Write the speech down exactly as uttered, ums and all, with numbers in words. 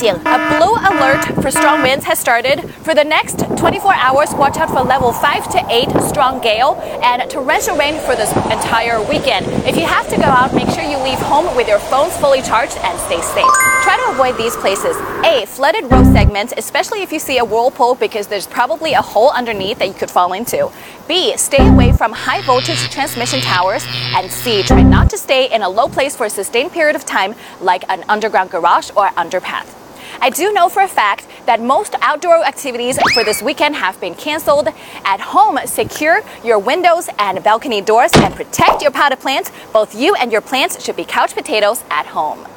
警 a blue alert for strong winds has started. For the next twenty-four hours, watch out for level five to eight strong gale and torrential rain for this entire weekend. If you have to go out, make sure you leave home with your phones fully charged and stay safe. Try to avoid these places. A. Flooded road segments, especially if you see a whirlpool because there's probably a hole underneath that you could fall into. B. Stay away from high voltage transmission towers. And C. Try not to stay in a low place for a sustained period of time like an underground garage or underpath. I do know for a fact that most outdoor activities for this weekend have been canceled. At home, secure your windows and balcony doors and protect your potted plants. Both you and your plants should be couch potatoes at home.